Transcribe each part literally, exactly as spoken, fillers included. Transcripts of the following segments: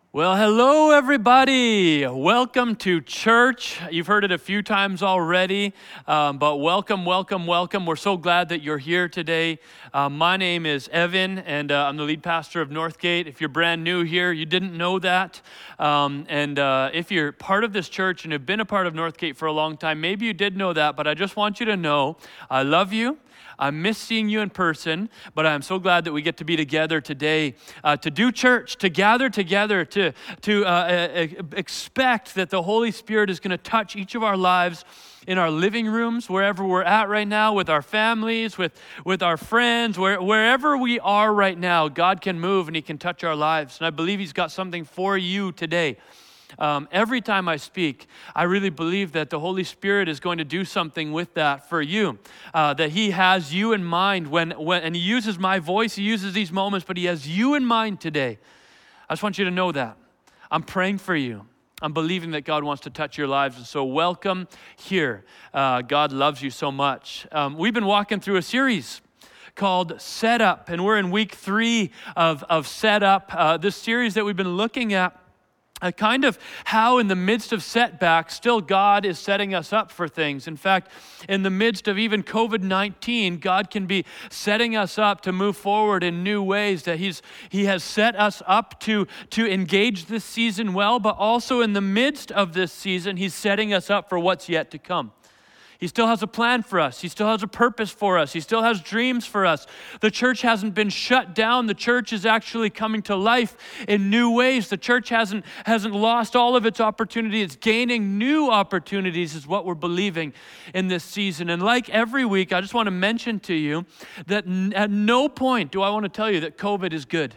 Well, hello, everybody. Welcome to church. You've heard it a few times already, um, but welcome, welcome, welcome. We're so glad that you're here today. Uh, my name is Evan, and uh, I'm the lead pastor of Northgate. If you're brand new here, you didn't know that. Um, and uh, if you're part of this church and have been a part of Northgate for a long time, maybe you did know that, but I just want you to know I love you. I miss seeing you in person, but I'm so glad that we get to be together today uh, to do church, to gather together, to, to uh, expect that the Holy Spirit is going to touch each of our lives in our living rooms, wherever we're at right now, with our families, with, with our friends, where, wherever we are right now, God can move and He can touch our lives. And I believe He's got something for you today. Um, every time I speak, I really believe that the Holy Spirit is going to do something with that for you, uh, that He has you in mind when, when, and He uses my voice, He uses these moments, but He has you in mind today. I just want you to know that. I'm praying for you. I'm believing that God wants to touch your lives, and so welcome here. Uh, God loves you so much. Um, we've been walking through a series called Set Up, and we're in week three of, of Set Up, uh, this series that we've been looking at. A kind of how in the midst of setbacks, still God is setting us up for things. In fact, in the midst of even covid nineteen, God can be setting us up to move forward in new ways, that He's He has set us up to, to engage this season well, but also in the midst of this season, He's setting us up for what's yet to come. He still has a plan for us. He still has a purpose for us. He still has dreams for us. The church hasn't been shut down. The church is actually coming to life in new ways. The church hasn't, hasn't lost all of its opportunity. It's gaining new opportunities is what we're believing in this season. And like every week, I just want to mention to you that at no point do I want to tell you that COVID is good.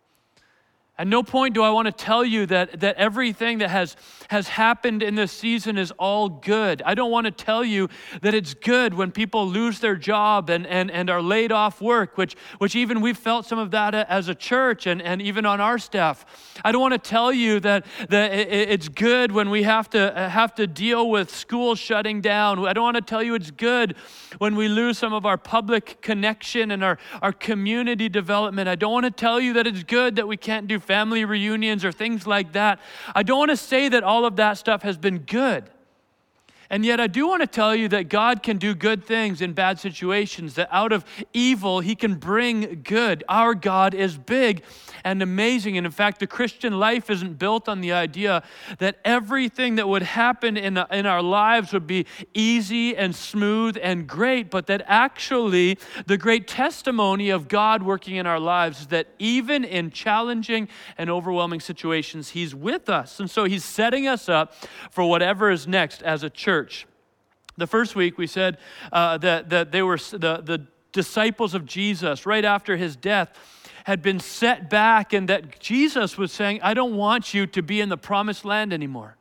At no point do I want to tell you that, that everything that has, has happened in this season is all good. I don't want to tell you that it's good when people lose their job and, and, and are laid off work, which, which even we've felt some of that as a church and, and even on our staff. I don't want to tell you that, that it's good when we have to, have to deal with schools shutting down. I don't want to tell you it's good when we lose some of our public connection and our, our community development. I don't want to tell you that it's good that we can't do family reunions or things like that. I don't want to say that all of that stuff has been good. And yet I do want to tell you that God can do good things in bad situations, that out of evil, He can bring good. Our God is big and amazing. And in fact, the Christian life isn't built on the idea that everything that would happen in, in our lives would be easy and smooth and great, but that actually the great testimony of God working in our lives is that even in challenging and overwhelming situations, He's with us. And so He's setting us up for whatever is next as a church. The first week we said uh, that, that they were the, the disciples of Jesus right after His death had been set back, and that Jesus was saying, I don't want you to be in the promised land anymore.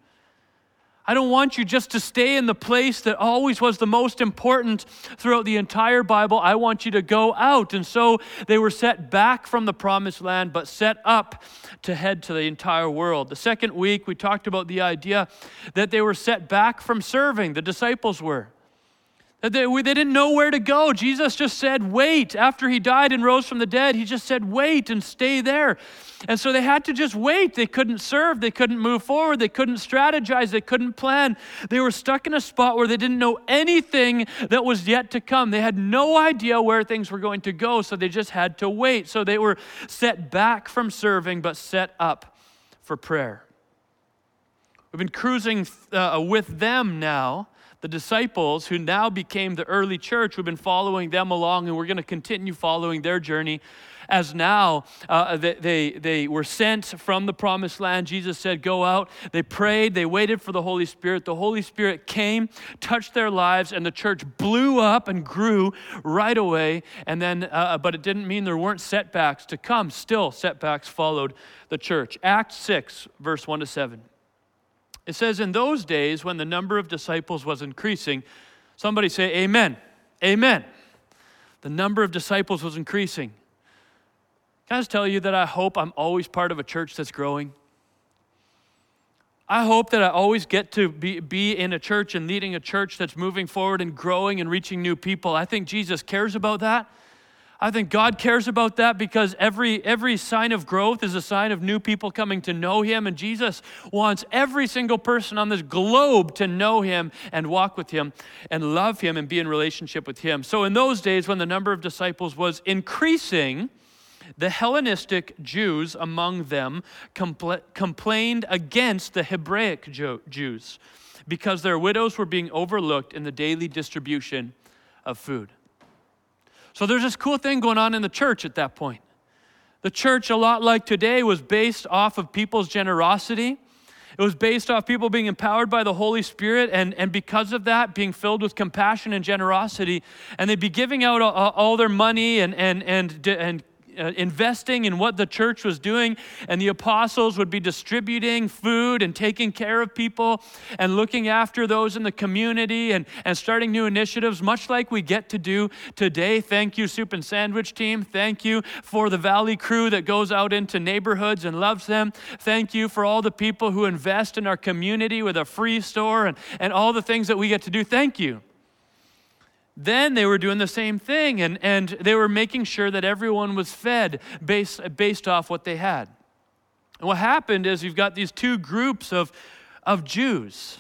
I don't want you just to stay in the place that always was the most important throughout the entire Bible. I want you to go out. And so they were set back from the promised land, but set up to head to the entire world. The second week, we talked about the idea that they were set back from serving. The disciples were. That they, they didn't know where to go. Jesus just said, wait. After He died and rose from the dead, He just said, wait and stay there. And so they had to just wait. They couldn't serve. They couldn't move forward. They couldn't strategize. They couldn't plan. They were stuck in a spot where they didn't know anything that was yet to come. They had no idea where things were going to go, so they just had to wait. So they were set back from serving, but set up for prayer. We've been cruising uh, with them now. The disciples who now became the early church, we've been following them along, and we're going to continue following their journey as now uh, they, they, they were sent from the promised land. Jesus said, go out. They prayed. They waited for the Holy Spirit. The Holy Spirit came, touched their lives, and the church blew up and grew right away. And then, uh, but it didn't mean there weren't setbacks to come. Still, setbacks followed the church. Acts six, verse one to seven. It says, in those days when the number of disciples was increasing, somebody say, amen, amen. The number of disciples was increasing. Can I just tell you that I hope I'm always part of a church that's growing? I hope that I always get to be, be in a church and leading a church that's moving forward and growing and reaching new people. I think Jesus cares about that. I think God cares about that because every every sign of growth is a sign of new people coming to know him. And Jesus wants every single person on this globe to know him and walk with him and love him and be in relationship with him. So in those days when the number of disciples was increasing, the Hellenistic Jews among them compl- complained against the Hebraic Jew- Jews because their widows were being overlooked in the daily distribution of food. So there's this cool thing going on in the church at that point. The church, a lot like today, was based off of people's generosity. It was based off people being empowered by the Holy Spirit, and, and because of that, being filled with compassion and generosity. And they'd be giving out all, all their money and and and and Uh, investing in what the church was doing, and the apostles would be distributing food and taking care of people and looking after those in the community and, and starting new initiatives, much like we get to do today. Thank you, Soup and Sandwich team. Thank you for the Valley crew that goes out into neighborhoods and loves them. Thank you for all the people who invest in our community with a free store and, and all the things that we get to do. Thank you. Then they were doing the same thing, and, and they were making sure that everyone was fed based, based off what they had. And what happened is you've got these two groups of, of Jews.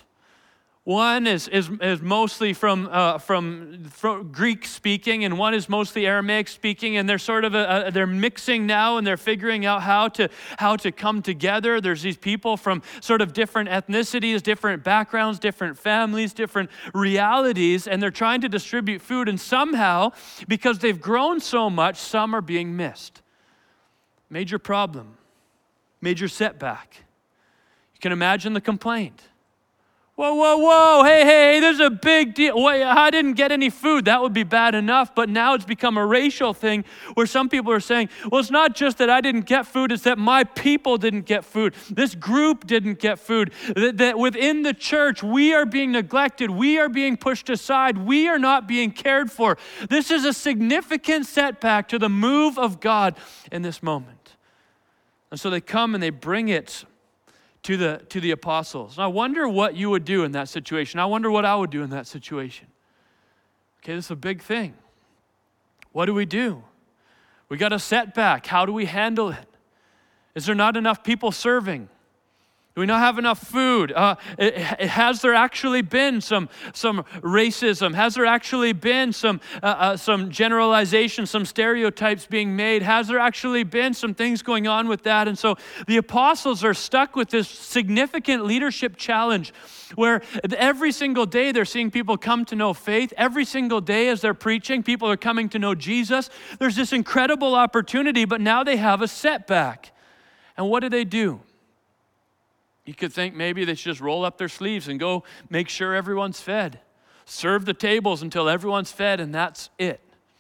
One is, is, is mostly from, uh, from, from Greek speaking, and one is mostly Aramaic speaking, and they're sort of a, a, they're mixing now, and they're figuring out how to how to come together. There's these people from sort of different ethnicities, different backgrounds, different families, different realities, and they're trying to distribute food, and somehow, because they've grown so much, some are being missed. Major problem, major setback. You can imagine the complaint. Whoa, whoa, whoa, hey, hey, there's a big deal. Wait, I didn't get any food. That would be bad enough, but now it's become a racial thing where some people are saying, well, it's not just that I didn't get food, it's that my people didn't get food. This group didn't get food. That, that within the church, we are being neglected. We are being pushed aside. We are not being cared for. This is a significant setback to the move of God in this moment. And so they come and they bring it to the to the apostles. And I wonder what you would do in that situation. I wonder what I would do in that situation. Okay, this is a big thing. What do we do? We got a setback. How do we handle it? Is there not enough people serving? Do we not have enough food? Uh, it, it, has there actually been some some racism? Has there actually been some uh, uh, some generalization, some stereotypes being made? Has there actually been some things going on with that? And so the apostles are stuck with this significant leadership challenge where every single day they're seeing people come to know faith. Every single day as they're preaching, people are coming to know Jesus. There's this incredible opportunity, but now they have a setback. And what do they do? You could think maybe they should just roll up their sleeves and go make sure everyone's fed. Serve the tables until everyone's fed, and that's it.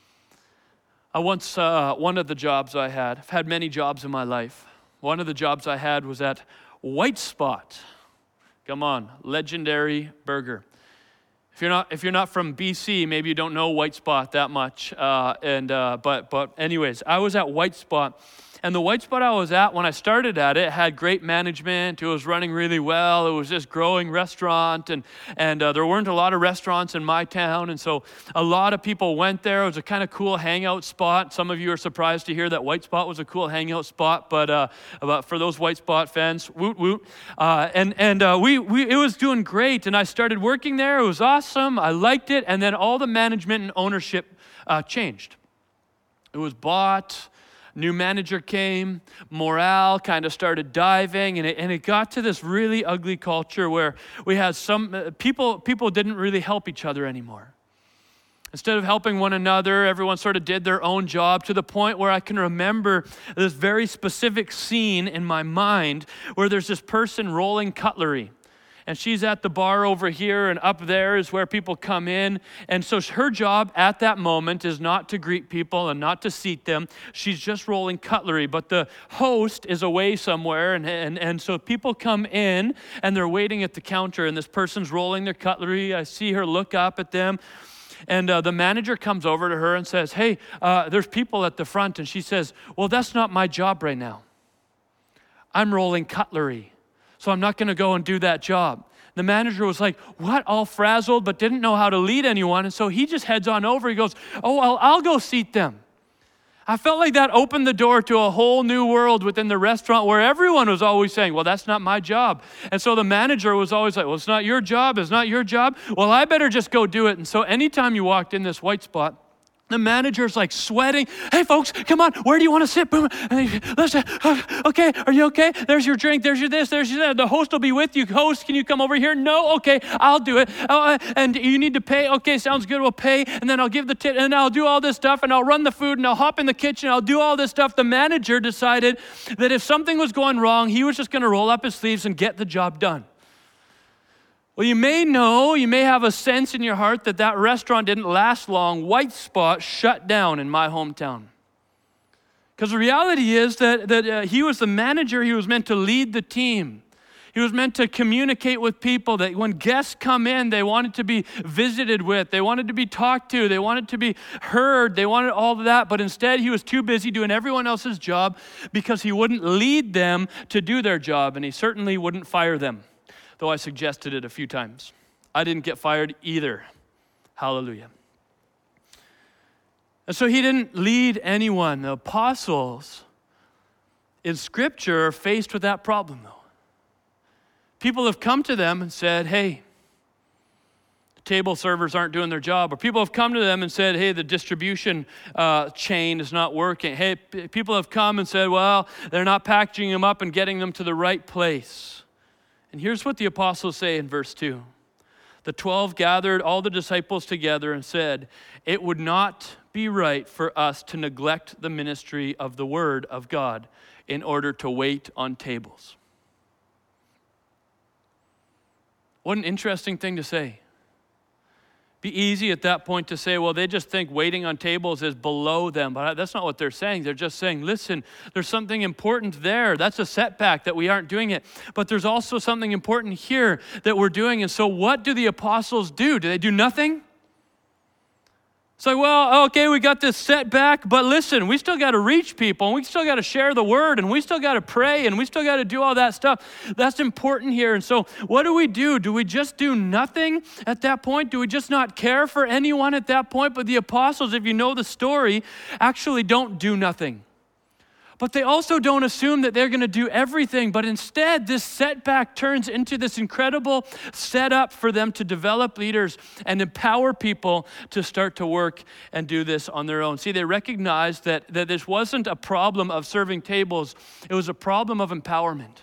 I once, uh, one of the jobs I had, I've had many jobs in my life. One of the jobs I had was at White Spot. Come on, legendary burger. If you're not if you're not from B C, maybe you don't know White Spot that much. Uh, and uh, but but anyways, I was at White Spot. And the White Spot I was at, when I started at it, had great management. It was running really well. It was this growing restaurant, and and uh, there weren't a lot of restaurants in my town, and so a lot of people went there. It was a kind of cool hangout spot. Some of you are surprised to hear that White Spot was a cool hangout spot, but uh, but for those White Spot fans, woot woot. Uh, and and uh, we we it was doing great, and I started working there. It was awesome. I liked it, and then all the management and ownership uh, changed. It was bought. New manager came, morale kind of started diving, and it, and it got to this really ugly culture where we had some uh, people, people didn't really help each other anymore. Instead of helping one another, everyone sort of did their own job, to the point where I can remember this very specific scene in my mind where there's this person rolling cutlery. And she's at the bar over here, and up there is where people come in. And so her job at that moment is not to greet people and not to seat them. She's just rolling cutlery. But the host is away somewhere, and, and, and so people come in, and they're waiting at the counter, and this person's rolling their cutlery. I see her look up at them. And uh, the manager comes over to her and says, hey, uh, there's people at the front. And she says, well, that's not my job right now. I'm rolling cutlery. So I'm not going to go and do that job. The manager was like, what? All frazzled, but didn't know how to lead anyone. And so he just heads on over. He goes, oh, well, I'll go seat them. I felt like that opened the door to a whole new world within the restaurant where everyone was always saying, well, that's not my job. And so the manager was always like, well, it's not your job. It's not your job. Well, I better just go do it. And so anytime you walked in this white spot, the manager's like sweating. Hey, folks, come on. Where do you want to sit? Boom. And he, Listen, okay, are you okay? There's your drink. There's your this. There's your that. The host will be with you. Host, can you come over here? No? Okay, I'll do it. Uh, and you need to pay? Okay, sounds good. We'll pay. And then I'll give the tip. And I'll do all this stuff. And I'll run the food. And I'll hop in the kitchen. I'll do all this stuff. The manager decided that if something was going wrong, he was just going to roll up his sleeves and get the job done. Well, you may know, you may have a sense in your heart that that restaurant didn't last long. White Spot shut down in my hometown. Because the reality is that, that uh, he was the manager. He was meant to lead the team. He was meant to communicate with people that when guests come in, they wanted to be visited with. They wanted to be talked to. They wanted to be heard. They wanted all of that. But instead, he was too busy doing everyone else's job because he wouldn't lead them to do their job. And he certainly wouldn't fire them. Though I suggested it a few times. I didn't get fired either. Hallelujah. And so he didn't lead anyone. The apostles in Scripture are faced with that problem, though. People have come to them and said, hey, the table servers aren't doing their job. Or people have come to them and said, hey, the distribution uh, chain is not working. Hey, p- people have come and said, well, they're not packaging them up and getting them to the right place. And here's what the apostles say in verse two. The twelve gathered all the disciples together and said, it would not be right for us to neglect the ministry of the word of God in order to wait on tables. What an interesting thing to say. Be easy at that point to say, well, they just think waiting on tables is below them. But that's not what they're saying. They're just saying, listen, there's something important there. That's a setback that we aren't doing it. But there's also something important here that we're doing. And so what do the apostles do? Do they do nothing? It's like, well, okay, we got this setback, but listen, we still got to reach people, and we still got to share the word, and we still got to pray, and we still got to do all that stuff. That's important here. And so what do we do? Do we just do nothing at that point? Do we just not care for anyone at that point? But the apostles, if you know the story, actually don't do nothing. But they also don't assume that they're going to do everything, but instead this setback turns into this incredible setup for them to develop leaders and empower people to start to work and do this on their own. See, they recognized that, that this wasn't a problem of serving tables, it was a problem of empowerment.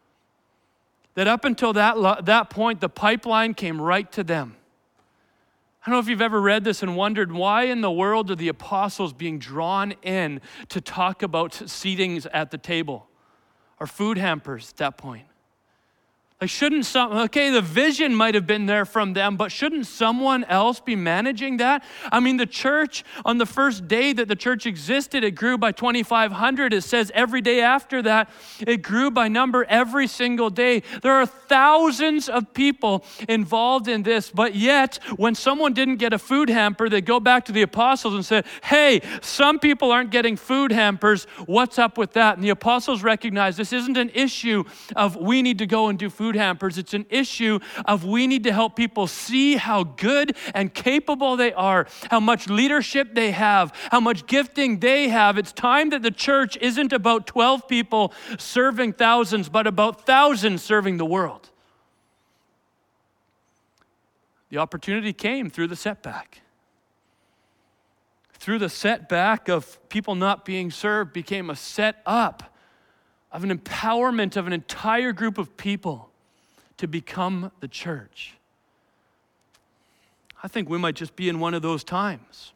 That up until that, that point, the pipeline came right to them. I don't know if you've ever read this and wondered why in the world are the apostles being drawn in to talk about seatings at the table or food hampers at that point? Like shouldn't some, okay, the vision might have been there from them, but shouldn't someone else be managing that? I mean, the church, on the first day that the church existed, it grew by twenty-five hundred. It says every day after that, it grew by number every single day. There are thousands of people involved in this, but yet when someone didn't get a food hamper, they go back to the apostles and say, hey, some people aren't getting food hampers. What's up with that? And the apostles recognize this isn't an issue of we need to go and do food hampers. It's an issue of we need to help people see how good and capable they are, how much leadership they have, how much gifting they have. It's time that the church isn't about twelve people serving thousands, but about thousands serving the world. The opportunity came through the setback. Through the setback of people not being served became a set up of an empowerment of an entire group of people to become the church. I think we might just be in one of those times.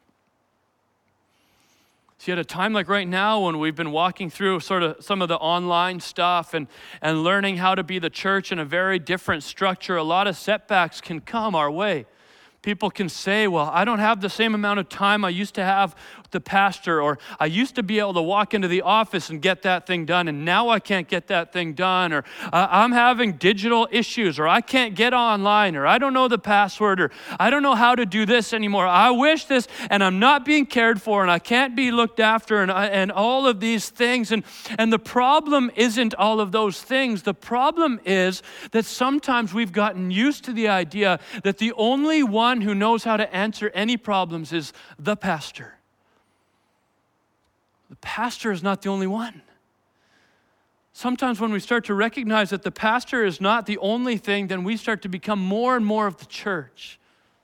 See, at a time like right now when we've been walking through sort of some of the online stuff and, and learning how to be the church in a very different structure, a lot of setbacks can come our way. People can say, well, I don't have the same amount of time I used to have with the pastor, or I used to be able to walk into the office and get that thing done, and now I can't get that thing done, or uh, I'm having digital issues, or I can't get online, or I don't know the password, or I don't know how to do this anymore. I wish this, and I'm not being cared for, and I can't be looked after, and, I, and all of these things. And, and the problem isn't all of those things. The problem is that sometimes we've gotten used to the idea that the only one who knows how to answer any problems is the pastor. The pastor is not the only one. Sometimes when we start to recognize that the pastor is not the only thing, then we start to become more and more of the church.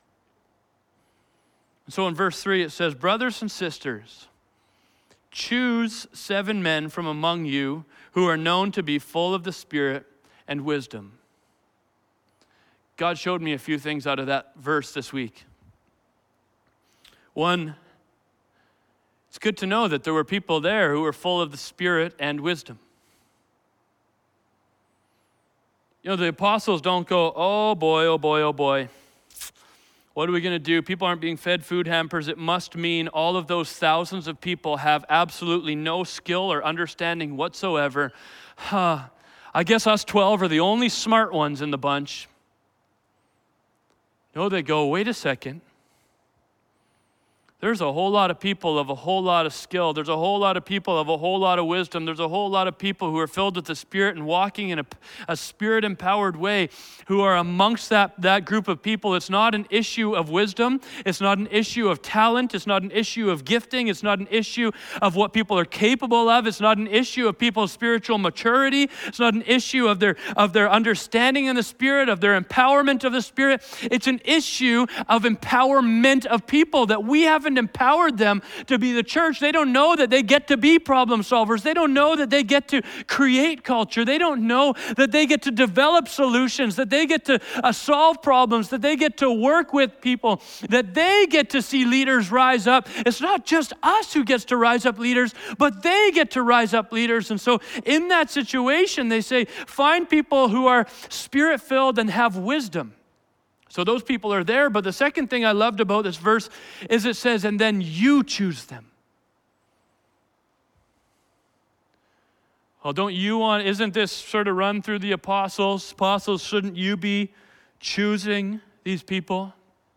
So in verse three it says, brothers and sisters, choose seven men from among you who are known to be full of the Spirit and wisdom. God showed me a few things out of that verse this week. One, it's good to know that there were people there who were full of the Spirit and wisdom. You know, the apostles don't go, oh boy, oh boy, oh boy. What are we going to do? People aren't being fed food hampers. It must mean all of those thousands of people have absolutely no skill or understanding whatsoever. Huh. I guess us twelve are the only smart ones in the bunch. No, they go, wait a second. There's a whole lot of people of a whole lot of skill. There's a whole lot of people of a whole lot of wisdom. There's a whole lot of people who are filled with the Spirit and walking in a, a Spirit-empowered way who are amongst that, that group of people. It's not an issue of wisdom. It's not an issue of talent. It's not an issue of gifting. It's not an issue of what people are capable of. It's not an issue of people's spiritual maturity. It's not an issue of their, of their understanding in the Spirit, of their empowerment of the Spirit. It's an issue of empowerment of people that we haven't empowered them to be the church. They don't know that they get to be problem solvers. They don't know that they get to create culture. They don't know that they get to develop solutions, that they get to uh, solve problems, that they get to work with people, that they get to see leaders rise up. It's not just us who gets to rise up leaders, but they get to rise up leaders. And so in that situation, they say, find people who are Spirit-filled and have wisdom. So those people are there, but the second thing I loved about this verse is it says, and then you choose them. Well, don't you want, isn't this sort of run through the apostles? Apostles, shouldn't you be choosing these people?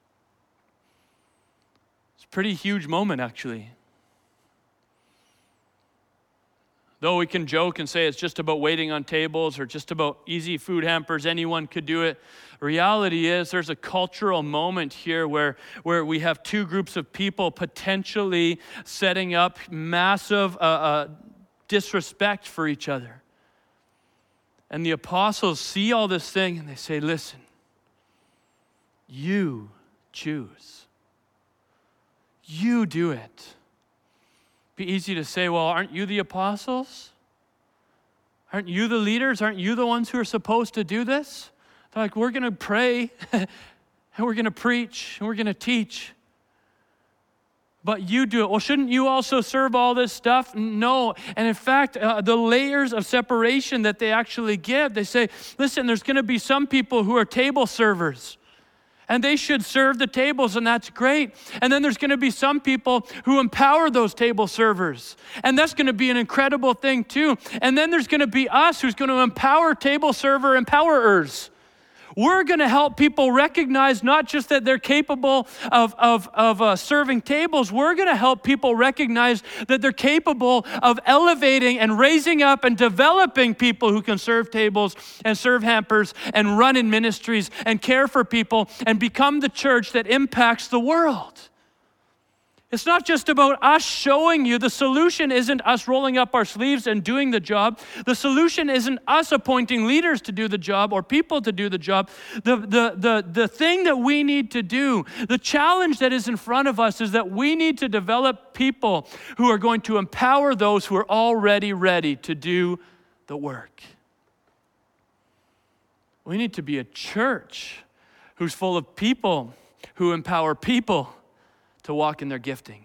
It's a pretty huge moment, actually. Though we can joke and say it's just about waiting on tables or just about easy food hampers, anyone could do it. Reality is there's a cultural moment here where, where we have two groups of people potentially setting up massive uh, uh, disrespect for each other. And the apostles see all this thing and they say, listen, you choose. You do it. Be easy to say, well, aren't you the apostles? Aren't you the leaders? Aren't you the ones who are supposed to do this? They're like, we're going to pray, and we're going to preach, and we're going to teach. But you do it. Well, shouldn't you also serve all this stuff? No. And in fact, uh, the layers of separation that they actually give, they say, listen, there's going to be some people who are table servers. And they should serve the tables, and that's great. And then there's going to be some people who empower those table servers. And that's going to be an incredible thing too. And then there's going to be us who's going to empower table server empowerers. We're going to help people recognize not just that they're capable of, of, of uh, serving tables. We're going to help people recognize that they're capable of elevating and raising up and developing people who can serve tables and serve hampers and run in ministries and care for people and become the church that impacts the world. It's not just about us showing you. The solution isn't us rolling up our sleeves and doing the job. The solution isn't us appointing leaders to do the job or people to do the job. The, the, the, the thing that we need to do, the challenge that is in front of us is that we need to develop people who are going to empower those who are already ready to do the work. We need to be a church who's full of people who empower people to walk in their gifting.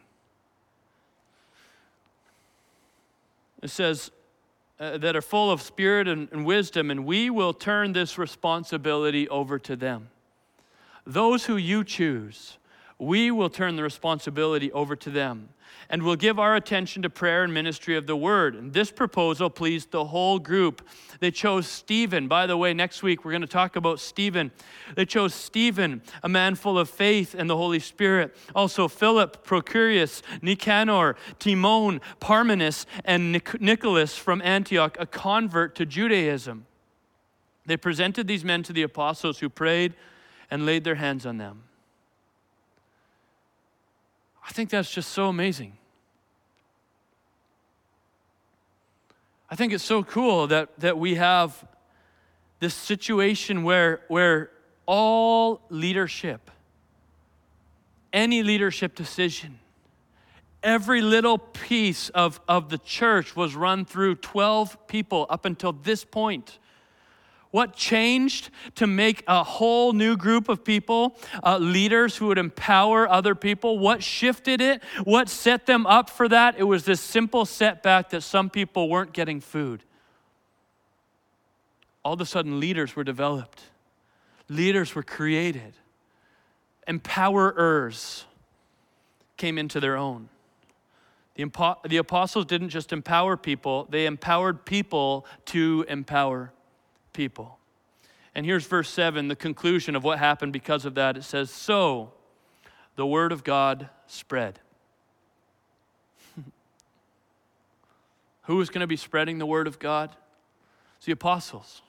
It says uh, that are full of spirit and, and wisdom, and we will turn this responsibility over to them. Those who you choose, we will turn the responsibility over to them, and we'll give our attention to prayer and ministry of the word. And this proposal pleased the whole group. They chose Stephen. By the way, next week we're going to talk about Stephen. They chose Stephen, a man full of faith and the Holy Spirit. Also Philip, Procurius, Nicanor, Timon, Parmenas, and Nic- Nicholas from Antioch, a convert to Judaism. They presented these men to the apostles who prayed and laid their hands on them. I think that's just so amazing. I think it's so cool that, that we have this situation where, where all leadership, any leadership decision, every little piece of, of the church was run through twelve people up until this point. What changed to make a whole new group of people, uh, leaders who would empower other people? What shifted it? What set them up for that? It was this simple setback that some people weren't getting food. All of a sudden, leaders were developed. Leaders were created. Empowerers came into their own. The, impo- the apostles didn't just empower people, they empowered people to empower people. And here's verse seven, the conclusion of what happened because of that. It says, so the word of God spread. Who was going to be spreading the word of God? It's the apostles.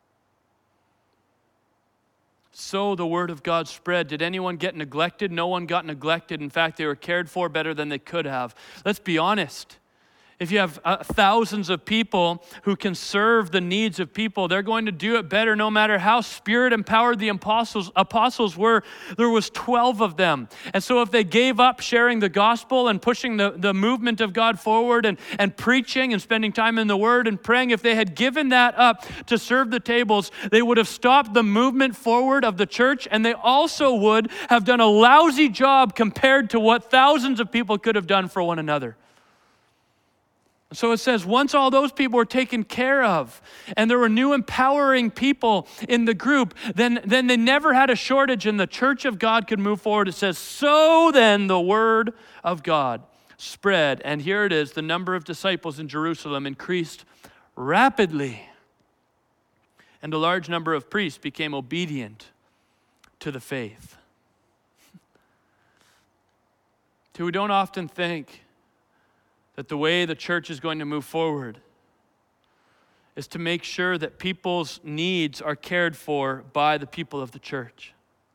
So the word of God spread. Did anyone get neglected? No one got neglected. In fact, they were cared for better than they could have. Let's be honest. If you have uh, thousands of people who can serve the needs of people, they're going to do it better no matter how Spirit-empowered the apostles, apostles were. There was twelve of them. And so if they gave up sharing the gospel and pushing the, the movement of God forward and, and preaching and spending time in the Word and praying, if they had given that up to serve the tables, they would have stopped the movement forward of the church, and they also would have done a lousy job compared to what thousands of people could have done for one another. So it says, once all those people were taken care of and there were new empowering people in the group, then, then they never had a shortage and the church of God could move forward. It says, so then the word of God spread. And here it is, the number of disciples in Jerusalem increased rapidly. And a large number of priests became obedient to the faith. So we don't often think that the way the church is going to move forward is to make sure that people's needs are cared for by the people of the church.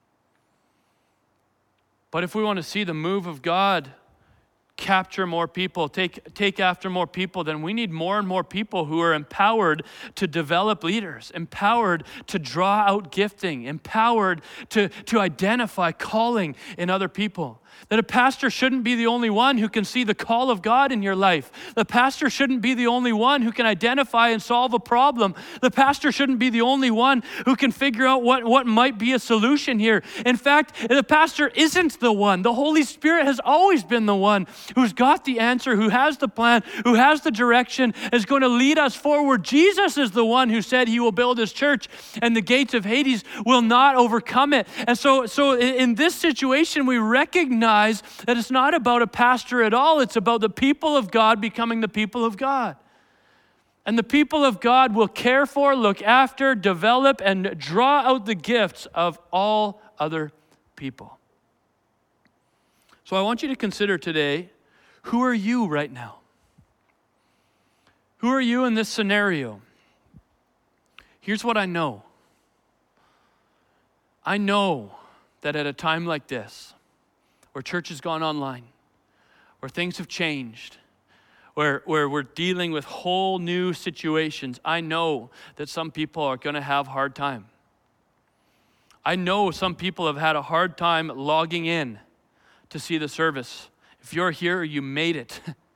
But if we want to see the move of God capture more people, take, take after more people, then we need more and more people who are empowered to develop leaders, empowered to draw out gifting, empowered to, to identify calling in other people. That a pastor shouldn't be the only one who can see the call of God in your life. The pastor shouldn't be the only one who can identify and solve a problem. The pastor shouldn't be the only one who can figure out what, what might be a solution here. In fact, the pastor isn't the one. The Holy Spirit has always been the one who's got the answer, who has the plan, who has the direction, is going to lead us forward. Jesus is the one who said he will build his church and the gates of Hades will not overcome it. And so, so in this situation, we recognize that it's not about a pastor at all. It's about the people of God becoming the people of God. And the people of God will care for, look after, develop, and draw out the gifts of all other people. So I want you to consider today, who are you right now? Who are you in this scenario? Here's what I know. I know that at a time like this, where church has gone online, where things have changed, where, where we're dealing with whole new situations, I know that some people are going to have a hard time. I know some people have had a hard time logging in to see the service. If you're here, you made it.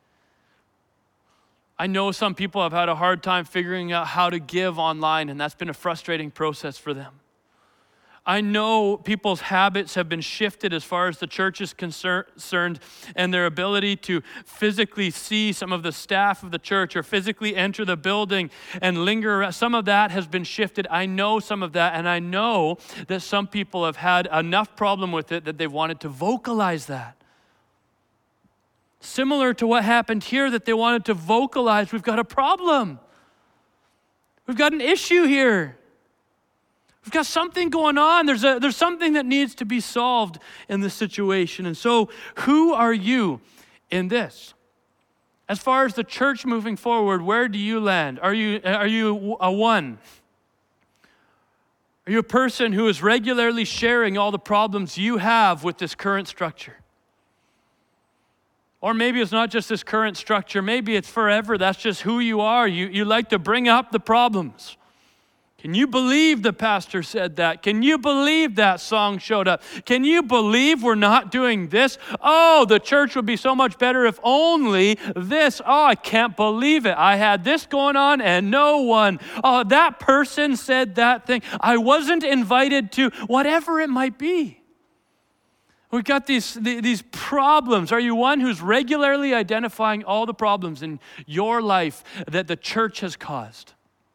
I know some people have had a hard time figuring out how to give online, and that's been a frustrating process for them. I know people's habits have been shifted as far as the church is concerned, and their ability to physically see some of the staff of the church or physically enter the building and linger. Some of that has been shifted. I know some of that, and I know that some people have had enough problem with it that they've wanted to vocalize that. Similar to what happened here, that they wanted to vocalize, we've got a problem. We've got an issue here. We've got something going on. There's a, there's something that needs to be solved in this situation. And so, who are you in this? As far as the church moving forward, where do you land? Are you, are you a one? Are you a person who is regularly sharing all the problems you have with this current structure? Or maybe it's not just this current structure. Maybe it's forever. That's just who you are. You, you like to bring up the problems. Can you believe the pastor said that? Can you believe that song showed up? Can you believe we're not doing this? Oh, the church would be so much better if only this. Oh, I can't believe it. I had this going on and no one. Oh, that person said that thing. I wasn't invited to, whatever it might be. We've got these, these problems. Are you one who's regularly identifying all the problems in your life that the church has caused?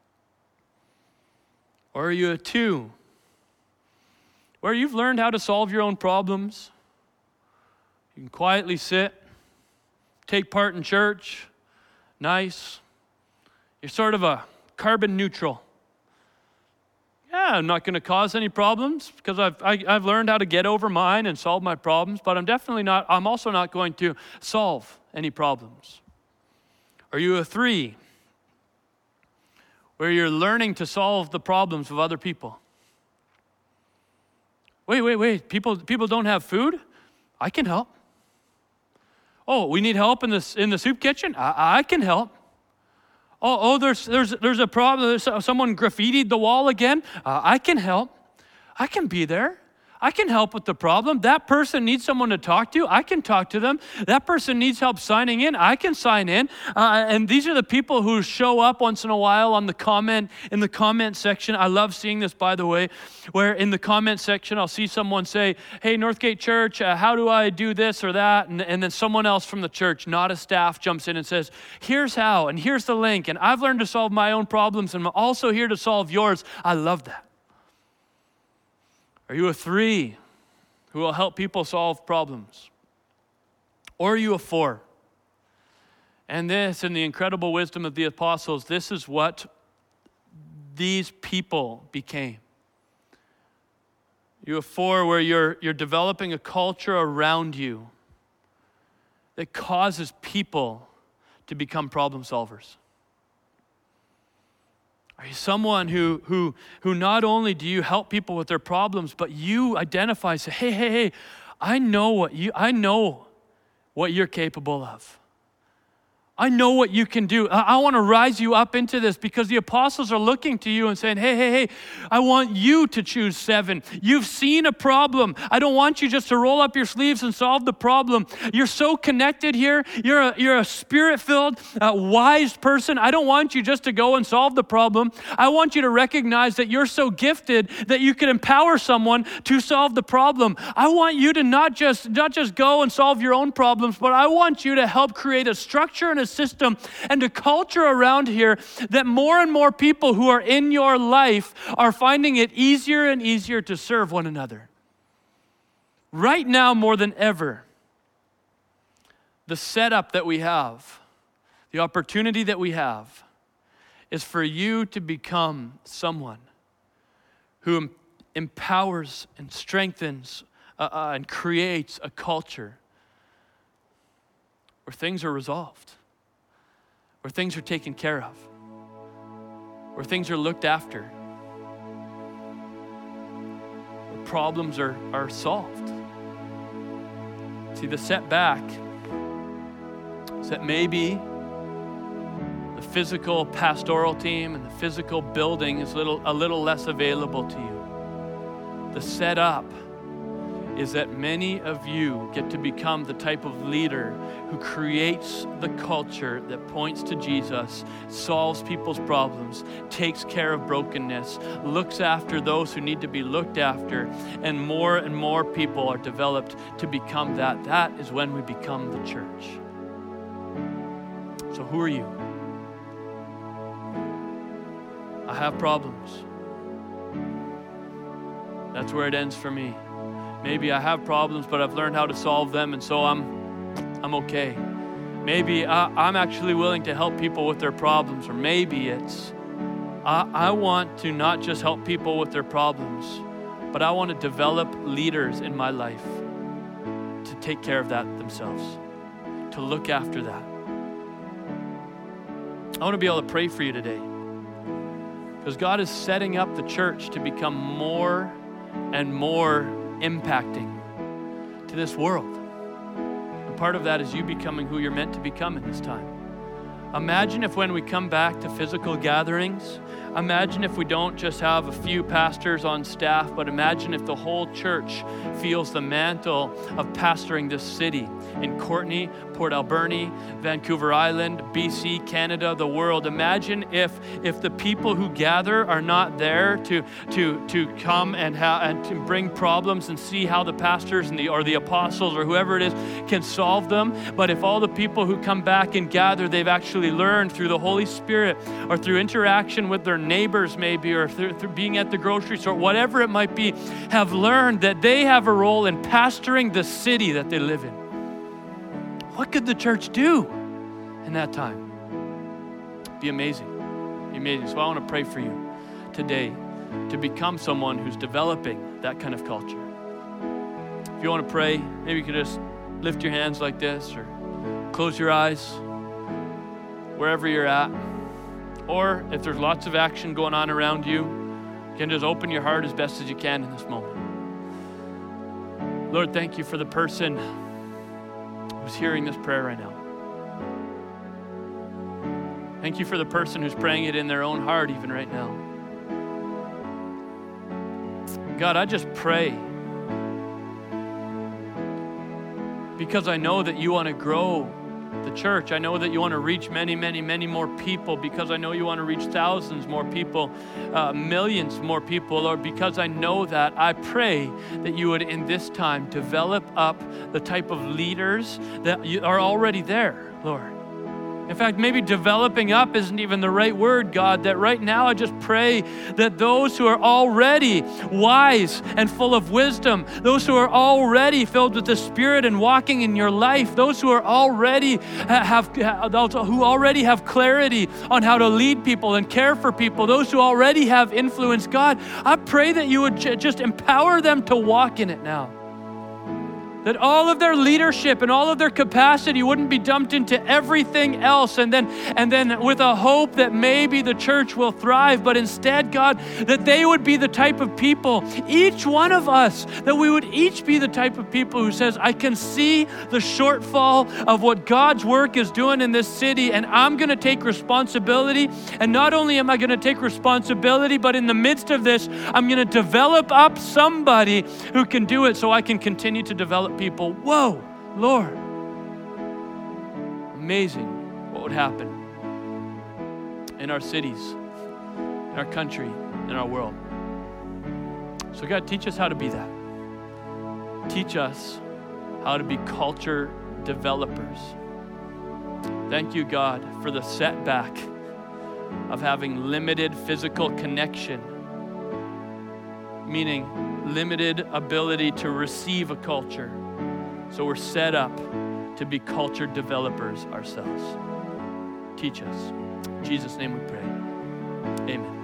Or are you a two, where you've learned how to solve your own problems? You can quietly sit, take part in church, nice. You're sort of a carbon neutral. Yeah, I'm not going to cause any problems because I've, I, I've learned how to get over mine and solve my problems, but I'm definitely not, I'm also not going to solve any problems. Are you a three, where you're learning to solve the problems of other people? Wait, wait, wait, people, people don't have food? I can help. Oh, we need help in the, in the soup kitchen? I, I can help. Oh, oh, there's there's there's a problem. There's someone graffitied the wall again. Uh, I can help. I can be there. I can help with the problem. That person needs someone to talk to. I can talk to them. That person needs help signing in. I can sign in. Uh, and these are the people who show up once in a while on the comment in the comment section. I love seeing this, by the way, where in the comment section I'll see someone say, "Hey, Northgate Church, uh, how do I do this or that?" And, and then someone else from the church, not a staff, jumps in and says, "Here's how, and here's the link, and I've learned to solve my own problems, and I'm also here to solve yours." I love that. Are you a three who will help people solve problems? Or are you a four? And this, in the incredible wisdom of the apostles, this is what these people became. You a four where you're, you're developing a culture around you that causes people to become problem solvers. Are you someone who, who, who not only do you help people with their problems, but you identify, say, hey, hey, hey, I know what you, I know what you're capable of. I know what you can do. I, I want to rise you up into this because the apostles are looking to you and saying, hey, hey, hey, I want you to choose seven. You've seen a problem. I don't want you just to roll up your sleeves and solve the problem. You're so connected here. You're a, you're a spirit-filled, uh, wise person. I don't want you just to go and solve the problem. I want you to recognize that you're so gifted that you can empower someone to solve the problem. I want you to not just, not just go and solve your own problems, but I want you to help create a structure and a system and a culture around here that more and more people who are in your life are finding it easier and easier to serve one another. Right now, more than ever, the setup that we have, the opportunity that we have, is for you to become someone who em- empowers and strengthens uh, uh, and creates a culture where things are resolved, where things are taken care of, where things are looked after, where problems are, are solved. See, the setback is that maybe the physical pastoral team and the physical building is little, a little less available to you. The setup is that many of you get to become the type of leader who creates the culture that points to Jesus, solves people's problems, takes care of brokenness, looks after those who need to be looked after, and more and more people are developed to become that. That is when we become the church. So who are you? I have problems. That's where it ends for me. Maybe I have problems, but I've learned how to solve them, and so I'm I'm okay. Maybe I, I'm actually willing to help people with their problems, or maybe it's I, I want to not just help people with their problems, but I want to develop leaders in my life to take care of that themselves, to look after that. I want to be able to pray for you today because God is setting up the church to become more and more impacting to this world. part of that is you becoming who you're meant to become in this time. Imagine if when we come back to physical gatherings, imagine if we don't just have a few pastors on staff, but imagine if the whole church feels the mantle of pastoring this city in Courtenay, Port Alberni, Vancouver Island, B C, Canada, the world. Imagine if if the people who gather are not there to to to come and ha- and to bring problems and see how the pastors and the or the apostles or whoever it is can solve them, but if all the people who come back and gather, they've actually learned through the Holy Spirit or through interaction with their neighbors maybe, or through, through being at the grocery store, whatever it might be, have learned that they have a role in pastoring the city that they live in. What could the church do in that time? Be amazing. Be amazing. So I want to pray for you today to become someone who's developing that kind of culture. If you want to pray, maybe you could just lift your hands like this or close your eyes wherever you're at. Or if there's lots of action going on around you, you can just open your heart as best as you can in this moment. Lord, thank you for the person who's hearing this prayer right now. Thank you for the person who's praying it in their own heart even right now. God, I just pray because I know that you want to grow the church. I know that you want to reach many, many, many more people, because I know you want to reach thousands more people, uh, millions more people, Lord, because I know that. I pray that you would in this time develop up the type of leaders that are already there, Lord. In fact, maybe developing up isn't even the right word, God, that right now I just pray that those who are already wise and full of wisdom, those who are already filled with the Spirit and walking in your life, those who are already have, those who already have clarity on how to lead people and care for people, those who already have influence, God, I pray that you would j- just empower them to walk in it now. That all of their leadership and all of their capacity wouldn't be dumped into everything else and then and then with a hope that maybe the church will thrive, but instead, God, that they would be the type of people, each one of us, that we would each be the type of people who says, I can see the shortfall of what God's work is doing in this city, and I'm going to take responsibility. And not only am I going to take responsibility, but in the midst of this, I'm going to develop up somebody who can do it so I can continue to develop people. Whoa, Lord. Amazing what would happen in our cities, in our country, in our world. So God, teach us how to be that. Teach us how to be culture developers. Thank you, God, for the setback of having limited physical connection, meaning limited ability to receive a culture. So we're set up to be culture developers ourselves. Teach us. In Jesus' name we pray. Amen.